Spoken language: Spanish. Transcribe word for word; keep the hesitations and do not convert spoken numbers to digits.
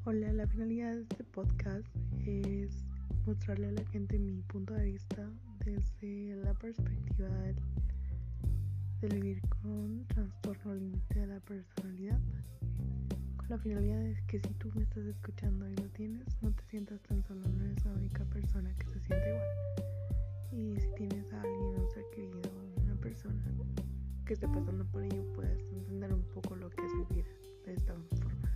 Hola, la finalidad de este podcast es mostrarle a la gente mi punto de vista desde la perspectiva del, del vivir con trastorno límite de la personalidad, con la finalidad de que si tú me estás escuchando y lo tienes, no te sientas tan solo, no eres la única persona que se siente igual. Y si tienes a alguien, un ser querido, una persona que esté pasando por ello, puedes entender un poco lo que es vivir de esta forma.